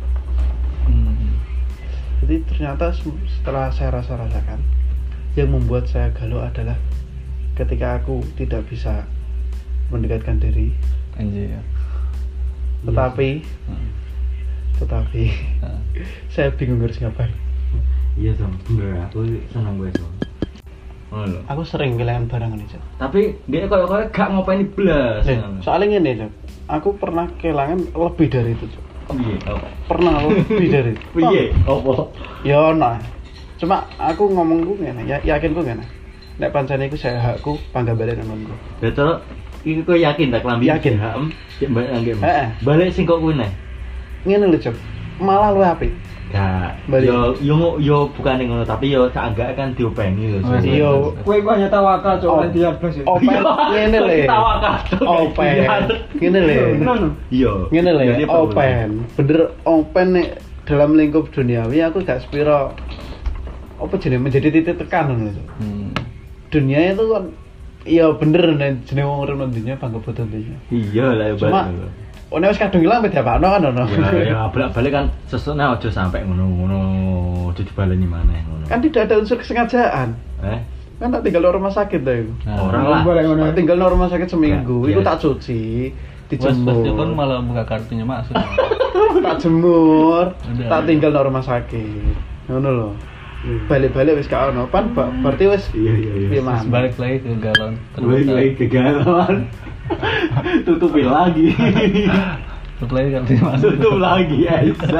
Hmm. Jadi ternyata se- setelah saya rasa-rasakan, yang membuat saya galau adalah ketika aku tidak bisa mendekatkan diri, Anjir ya. tetapi Hmm. tetapi Nah. saya bingung harus ngapain. Iya Sam, bener aku seneng gue Sam. Oh lho. Aku sering kehilangan barang ini, Cok. Tapi dia koyo-koyo gak ngopeni blas. Nih, soalnya ngene, Cok. Aku pernah kehilangan lebih dari itu, Cok. Piye? Oh. Pernah lebih dari itu. Piye? Opo? Ya ono. Cuma aku ngomong ku ngene, ya yakin ku ngene. Nek pancene iku saya hakku pangga balik nang nggonku. Betul. Iki kowe yakin tak klambi? Yakin. Heeh. Cek balik nang kene. Heeh. Balik sing kok kuwi neh. Ngene lho, Cok. Malah luwih apik. Gak. Balik. Yo yo yo bukan ngono tapi yo seenggak kan diopeni lho. Oh, Sam. Iya. Kowe ku hanya tawakal cok Oh. oleh dia blas ya. Open ngene le. Tawakal. Open. Ngene le. Tenan lho. Iya. Ngene le, Jadi perlu. open. Bener open nek dalam lingkup duniawi aku gak sepiro apa jenenge menjadi titik tekan ngono lho. Hmm. Dunia itu kan iya bener nek jenenge wong urip nang dunia bangga butuh dunia. Iya lah yo Cuma balik. oh nek wis kadung ilang beda bakno kan ono. Ya ya balik-balik kan sesune aja sampai ngono-ngono aja dibaleni maneh ngono. Kan tidak ada unsur kesengajaan. Eh, Kan tak tinggal di rumah sakit ta iku. Nah, orang lah. Boleh ngono. Tak tinggal di rumah sakit seminggu, Nah, iku iya. tak cuci, Wes pasti kan dijemur. malah buka kartunya masuk. Tak jemur, Udah. tak tinggal di rumah sakit. Ngono lho. Balik-balik wis gak ono, pan ba- berarti wis Iya iya iya. piye Terus maneh. balik lagi ke galon. Balik lagi kegalauan. Tutupin lagi. Tutup lagi kartunya masuk. Tutup lagi Aisyah.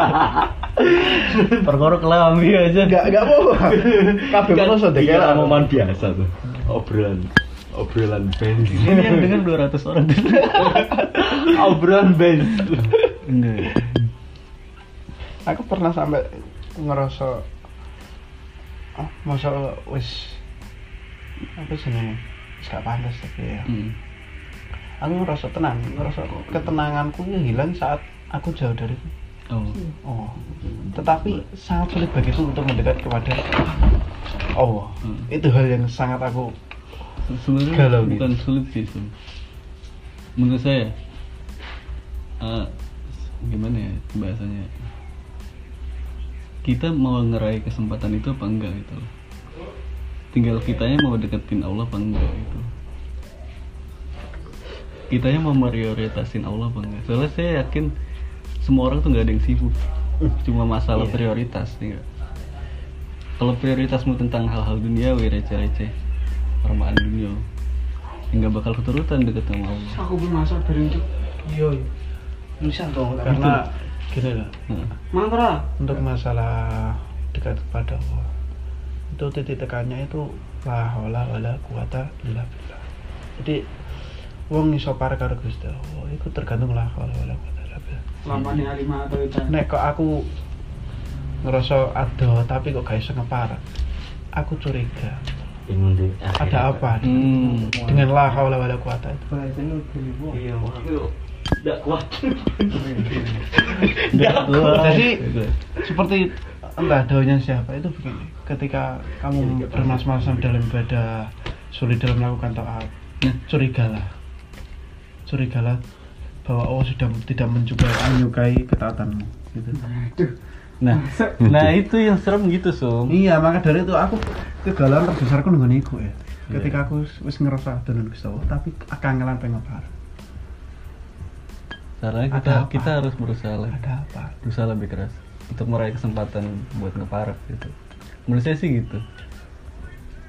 Perkara kelambi aja. Gak gak apa. Kabeh manusa Iya, dekeran. omongan biasa tuh. Obrolan obrolan band. Ini yang dengar dua ratus orang. Obrolan band. Enggak. Aku pernah sampai ngerasa ah, masa wis apa jenenge? Wis gak pantas tapi ya. Hmm. Aku ngerasa tenang, ngerasa ketenanganku ya hilang saat aku jauh dari Oh. Oh, tetapi sangat sulit bagiku untuk mendekat kepada Allah. Hmm. Itu hal yang sangat aku Sebenarnya Galau bukan gitu. sulit sih, Sum. Menurut saya, eh, gimana ya bahasanya? Kita mau ngeraih kesempatan itu apa enggak gitu loh. Tinggal kitanya mau deketin Allah apa enggak gitu. Kitanya mau prioritasin Allah apa enggak. Soalnya saya yakin semua orang tuh nggak ada yang sibuk. Cuma masalah Iya. prioritas nih. Nggak? Kalau prioritasmu tentang hal-hal duniawi receh-receh, permaan dunia, nggak bakal keturutan deket sama Allah. Aku belum masak bareng cok. iya bisa dong karena gini loh Nah, Mantra. untuk masalah dekat kepada Allah itu titik tekannya itu la haula wala quwata illa billah. Jadi wong iso parek karo Gusti Allah iku tergantung la haula wala quwata illa billah. Lampane alimah atau itu. Nek kok aku ngerasa ada tapi kok gak iso ngeparek, aku curiga Bingung deh. ada apa hmm. dengan la haula wala quwata itu. Bahasanya lebih buah. Iya, aku enggak kuat. Nggak kuat. Jadi Gitu. seperti entah daunnya siapa itu begini, ketika kamu bermas-masan dalam ibadah, sulit dalam melakukan taat, Nah. curigalah curigalah bahwa Allah sudah tidak mencoba menyukai ketaatanmu gitu. Aduh. Nah, nah itu yang serem gitu, Sum. Iya, maka dari itu aku kegalauan terbesarku nunggu niku ya. Iya. Ketika aku wis- wis ngerasa donon Gusti Allah, tapi kangelan pengen parek. Caranya kita Ada apa? kita harus berusaha lah. Ada apa? Berusaha lebih keras untuk meraih kesempatan buat ngeparek gitu. Menurut saya sih gitu.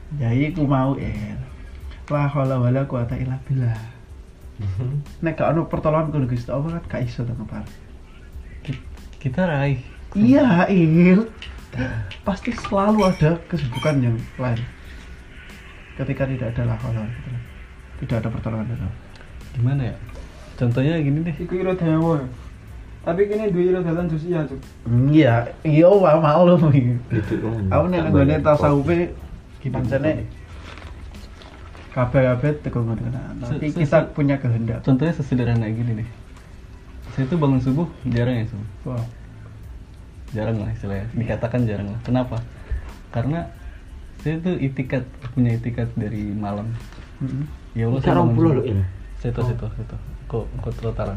Ya iku mau er. La haula wala quwata illa billah. Nek gak ono pertolongan kudu Gusti Allah kan gak iso to kepar. Ki- kita raih. Iya, Il. Pasti selalu ada kesibukan yang lain. Ketika tidak ada la haula wala quwata. Tidak ada pertolongan itu. Gimana ya? Contohnya gini deh. Iku ira dawa. Tapi kene duwe ira dalan sosial, Cuk. Iya, iya wae mau lho iki. Itu kan. Aku nek nggone tasawufe pancene kabeh-kabeh teko ngono. Tapi Se- se- kita se- punya kehendak. Contohnya sesederhana gini deh. Saya tuh bangun subuh jarang ya subuh. Wah. Jarang lah istilahnya. Dikatakan jarang lah. Kenapa? Karena saya tuh itikat, punya itikat dari malam. Heeh. Ya Allah, saya Sekarang bangun puluh subuh. loh ini. Situ, situ, situ. Kok, kok trotaran.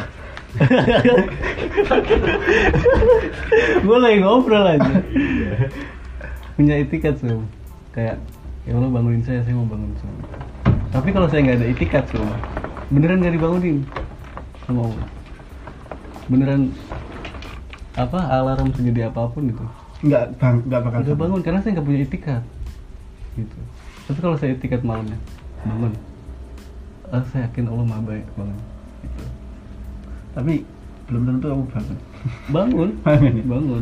Gue lagi ngobrol aja. Punya itikat subuh. Kayak, ya Allah bangunin saya, saya mau bangun subuh. Tapi kalau saya nggak ada itikat subuh, beneran nggak dibangunin sama Allah. Beneran apa alarm segede apapun itu Enggak bang, enggak bakal nggak bangun karena saya nggak punya itikat gitu. Tapi kalau saya itikat malamnya bangun, ah, saya yakin Allah maha baik bangun gitu. Tapi belum tentu kamu bangun. Bangun, Bangun ya? bangun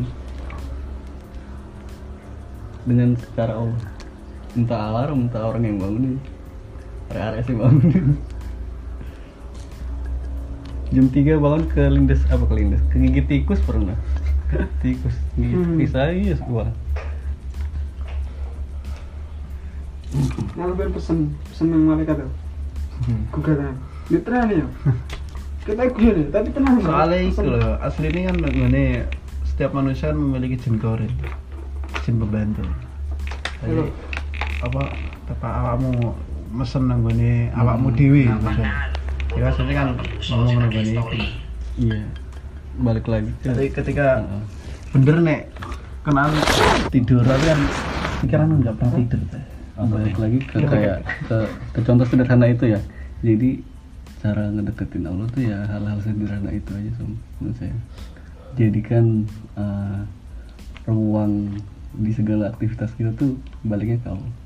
dengan secara Allah. Entah alarm, entah orang yang bangunin. Area-area sih bangunin. Jam tiga bangun ke lindes apa ke lindes? Kegigit tikus pernah. Tikus, gigit Hmm. bisa iya gua. Nah, lu pengen pesen pesen nang malaikat tuh. Hmm. Gugatan. Literal ya. Kita gue nih, tapi tenang. Soalnya itu Pesen. loh, asli ini kan ngene setiap manusia kan memiliki jin korin, jin pembantu. Jadi Halo. apa tepak awakmu mesen nang ngene awakmu dhewe maksudnya. Ya asli kan ngomong nang ngene iki. Iya. Balik lagi. ke- Jadi ketika Heeh. bener nek kenaan tidur tapi kan pikiran enggak pernah tidur teh. Balik lagi ke kayak ke, ke contoh sederhana itu ya. Jadi cara ngedeketin Allah tuh ya hal-hal sederhana itu aja Som, menurut saya. Jadikan uh, ruang di segala aktivitas kita tuh baliknya ke Allah.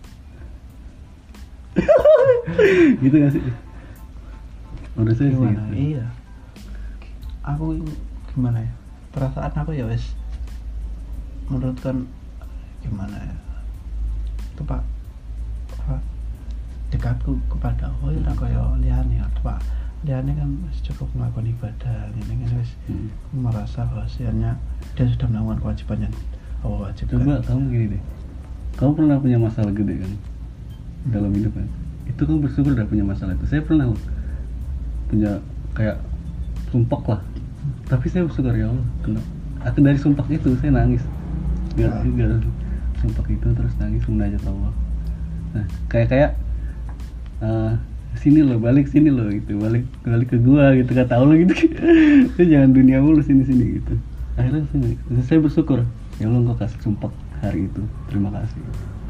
Gitu gak sih? Menurut saya sih Gimana? gitu. Iya. Aku gimana ya? Perasaan aku ya wes menurut kan gimana ya? Itu Pak apa dekatku kepada Allah ya kaya liyane ya, Pak. Liyane kan wis cukup melakukan ibadah ini kan wis Hmm. merasa bahwasanya dia sudah melakukan kewajiban yang Allah wajibkan. Coba kamu gini deh. Kamu pernah punya masalah gede kan? Dalam hidup kan? Itu kamu bersyukur udah punya masalah itu. Saya pernah loh punya kayak sumpah lah. Tapi saya bersyukur ya Allah. Kenapa? Aku dari sumpah itu saya nangis. Gak, Ah. gak sumpah itu terus nangis munajat Allah. Nah, kayak kayak eh, sini loh, balik sini loh gitu, balik balik ke gua gitu kata Allah gitu. Itu jangan dunia mulu sini sini gitu. Akhirnya saya, saya bersyukur ya Allah engkau kasih sumpah hari itu, terima kasih.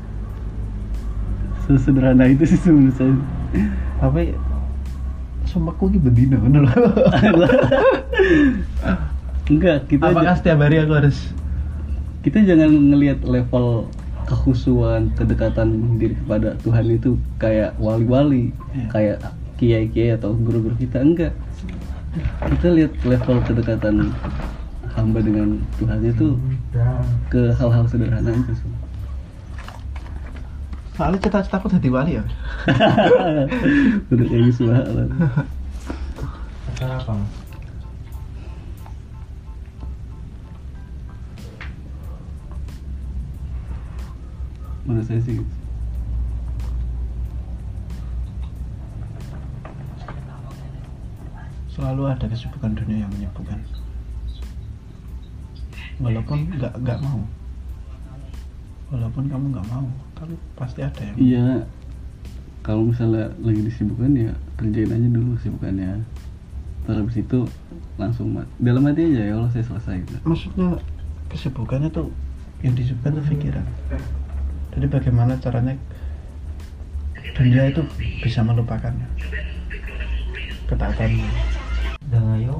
Sesederhana itu sih menurut saya. Tapi sumpahku ki bendino ngono lho. Enggak, kita Apakah ja- setiap hari aku harus kita jangan ngelihat level kehusuan, kedekatan diri kepada Tuhan itu kayak wali-wali, Iya. kayak kiai-kiai atau guru-guru kita, enggak. Kita lihat level kedekatan hamba dengan Tuhan itu ke hal-hal sederhana itu semua. soalnya cita-citaku jadi wali ya. Udah kayak gitu lah. Acara apa? Menurut saya sih gitu. Selalu ada kesibukan dunia yang menyibukkan. Walaupun nggak nggak mau, walaupun kamu nggak mau, tapi pasti ada yang. Iya, kalau misalnya lagi disibukkan ya kerjain aja dulu kesibukannya. Terus habis itu langsung mat. Dalam hati aja ya Allah saya selesai gitu. Maksudnya kesibukannya tuh yang disibukkan tuh pikiran. Jadi bagaimana caranya dunia itu bisa melupakannya, ketaatannya. Dan ayo.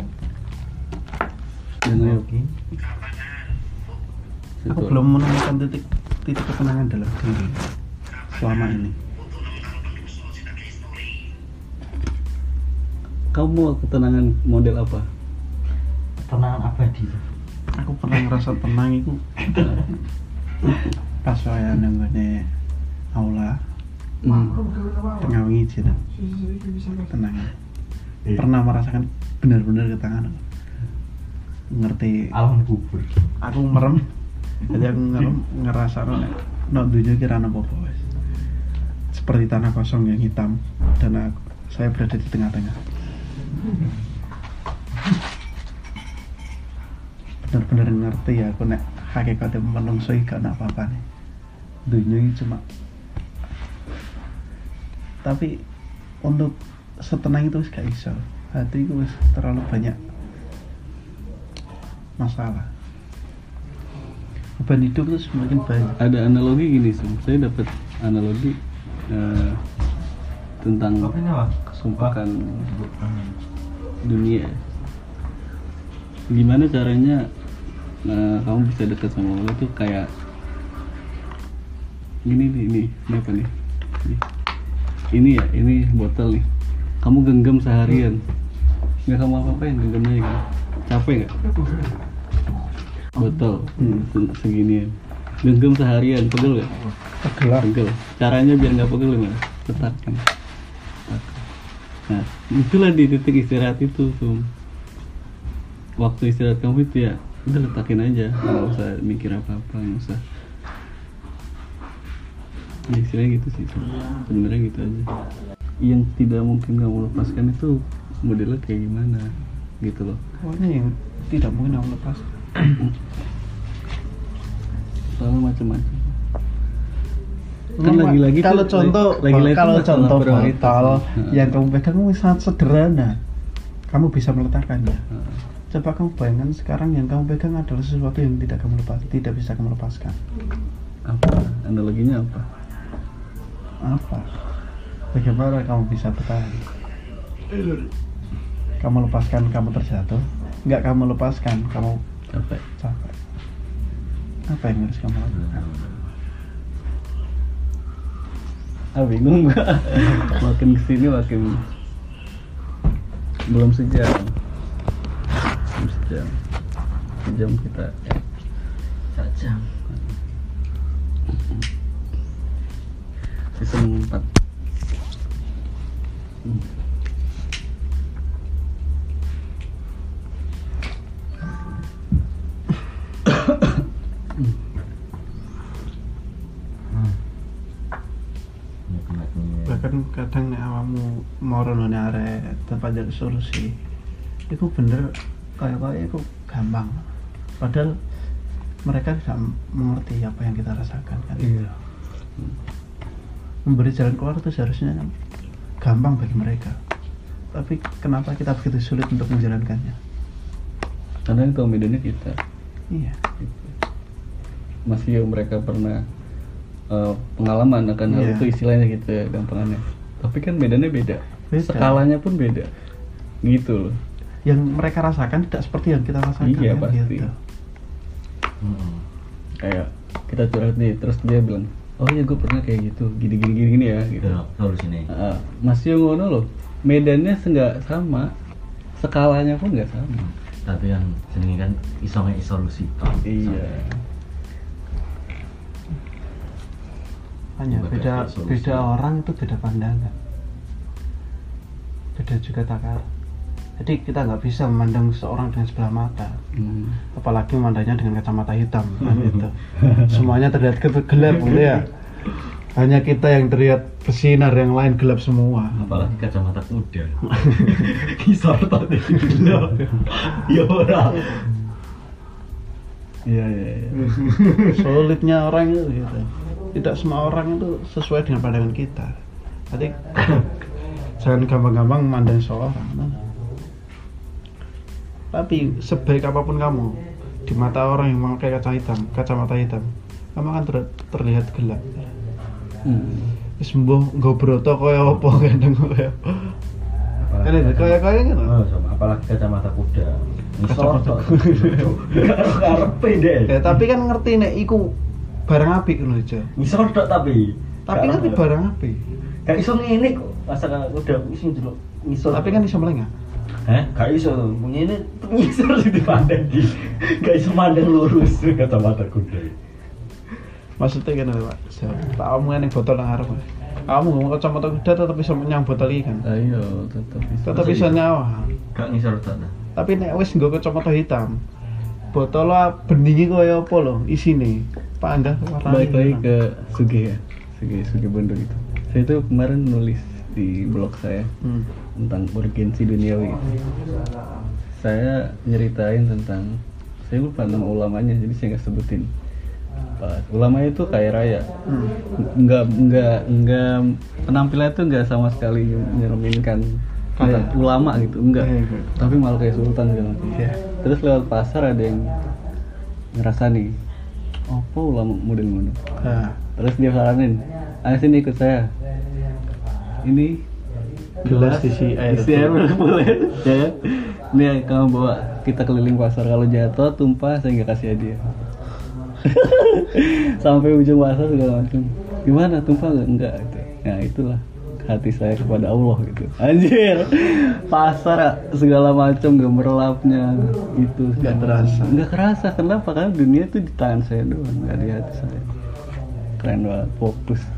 Dan ayo. Oke. Aku Situ. belum menemukan titik titik ketenangan dalam diri. selama ini. Kamu mau ketenangan model apa? Tenangan abadi. Aku pernah ngerasa tenang itu pas saya nenggone aula Hmm. tengah wingi cina tenang. Pernah merasakan benar-benar ketenangan. Ngerti. Alam kubur. Aku merem. Jadi aku ngerem ngerasa nek nek dunia kira ana apa wis. Seperti tanah kosong yang hitam dan aku, saya berada di tengah-tengah. Benar-benar ngerti ya aku nek hakikate menungso iki gak ana apa-apane. Dunia ini cuma tapi untuk setenang itu wis gak iso. Hatiku wis terlalu banyak masalah. Beban hidup itu semakin banyak. Ada analogi gini sih, saya dapat analogi eh, tentang kesumpahan dunia. Gimana caranya eh, kamu bisa dekat sama Allah tuh kayak gini nih, ini, ini apa nih? Ini, ini ya, ini botol nih. Kamu genggam seharian, nggak kamu apa-apain genggamnya kan? Capek nggak? Botol Hmm. se- seginian, genggam seharian, pegel nggak? Pegel. Pegel. Caranya biar nggak pegel gimana? Letakkan. Nah, itulah di titik istirahat itu tuh. Waktu istirahat kamu itu ya, udah letakin aja, nggak usah mikir apa-apa, nggak usah. Ya, istilahnya gitu sih, sebenarnya gitu aja. Yang tidak mungkin kamu lepaskan itu modelnya kayak gimana, gitu loh. Pokoknya yang tidak mungkin aku lepas. Soalnya macam-macam. Kan Memang, lagi-lagi kalau tuh, contoh lagi-lagi kalau tuh masalah contoh prioritas. botol Heeh. yang kamu pegang itu sangat sederhana, kamu bisa meletakkannya. Heeh. Coba kamu bayangkan sekarang yang kamu pegang adalah sesuatu yang tidak kamu lepas, tidak bisa kamu lepaskan. Apa? Analoginya apa? Apa? Bagaimana kamu bisa bertahan? Kamu lepaskan, kamu terjatuh. Enggak kamu lepaskan, kamu Capek. capek. Apa yang harus kamu lakukan? Ah, bingung gua. Makin kesini makin belum sejam. Belum sejam. Sejam kita. Saja. Season empat. Hmm. Bahkan kadang nek awakmu moro nang arek tempat jadi solusi itu bener kayak kayak itu gampang, padahal mereka tidak mengerti apa yang kita rasakan kan. Iya. Memberi jalan keluar itu seharusnya gampang bagi mereka, tapi kenapa kita begitu sulit untuk menjalankannya? Karena yang tahu medannya kita. Iya. Masih yang mereka pernah uh, pengalaman akan hal Iya. itu, istilahnya gitu ya gampangannya. Tapi kan medannya beda. Beda. Skalanya pun beda. Gitu loh. Yang mereka rasakan tidak seperti yang kita rasakan. Iya, kan, pasti. gitu. Hmm. Kayak kita curhat nih, terus dia bilang, oh iya gue pernah kayak gitu, gini gini gini, gini ya gitu. Itu solusinya. Uh, masih yang ngono loh, medannya nggak sama, skalanya pun nggak sama. Tapi kan jenenge kan iso nge solusi. Iya. Hanya Bukan beda kayak solusi. beda orang itu beda pandangan, beda juga takaran. Jadi kita nggak bisa memandang seseorang dengan sebelah mata, Hmm. apalagi memandangnya dengan kacamata hitam kan gitu. Semuanya terlihat ke- gelap gitu ya. Hanya kita yang terlihat bersinar, yang lain gelap semua. Apalagi kacamata kuda. Kisah tadi dulu. Ya ora. Iya iya. iya. Sulitnya orang itu gitu. Tidak semua orang itu sesuai dengan pandangan kita. Jadi jangan gampang-gampang memandang seorang. Tapi sebaik apapun kamu di mata orang yang memakai kaca hitam, kacamata hitam, kamu akan ter- terlihat gelap. Hmm. Wis mbuh nggo broto kaya apa kadang kaya. Kan itu kaya kaya gitu. Oh, sama apalagi kacamata kuda. Kacamata Karepe deh. Ya, tapi kan ngerti nek iku barang apik ngono aja. Ngisor tok tapi Tapi kan Gak barang api. Gak iso ngene kok. Masa udah iso ndelok ngisor. Tapi kan iso melengah. Hah? Gak iso. Ngene ngisor di pandang di. Gak iso mandang lurus kacamata kuda. Maksudnya kan Pak. Tak omongin yang botol nang arep. Kamu ngomong kacamata kuda tetep bisa nyang botol iki kan. Ayo tetap bisa. Tetep bisa nyawa. Gak ngisor ta. Tapi nek wis nggo kacamata hitam, botol beningi kaya apa lho isine. Panggah warna. Balik lagi ke Suge ya. Suge Suge Bondo itu. Saya itu kemarin nulis di blog saya Hmm. tentang urgensi duniawi. Saya nyeritain tentang, saya lupa nama ulamanya jadi saya nggak sebutin. Pas ulamanya itu kaya raya, Hmm. nggak nggak nggak penampilannya itu nggak sama sekali mencerminkan kayak Iya. ulama gitu, enggak. Iya, iya. Tapi malah kayak sultan gitu. Iya. Terus lewat pasar ada yang ngerasa nih, apa ulama model-model. Nah, Terus dia saranin, ayo sini ikut saya. Ini gelas isi air. isi air boleh, ya kan? Nih kamu bawa kita keliling pasar, kalau jatuh tumpah saya nggak kasih hadiah. Sampai ujung pasar segala macam. Gimana tumpah nggak? Enggak. Gitu. Nah itulah hati saya kepada Allah gitu. Anjir, pasar segala macam gemerlapnya itu Nggak terasa. Nggak kerasa. Kenapa? Karena dunia itu di tangan saya doang, nggak di hati saya. Keren banget, fokus.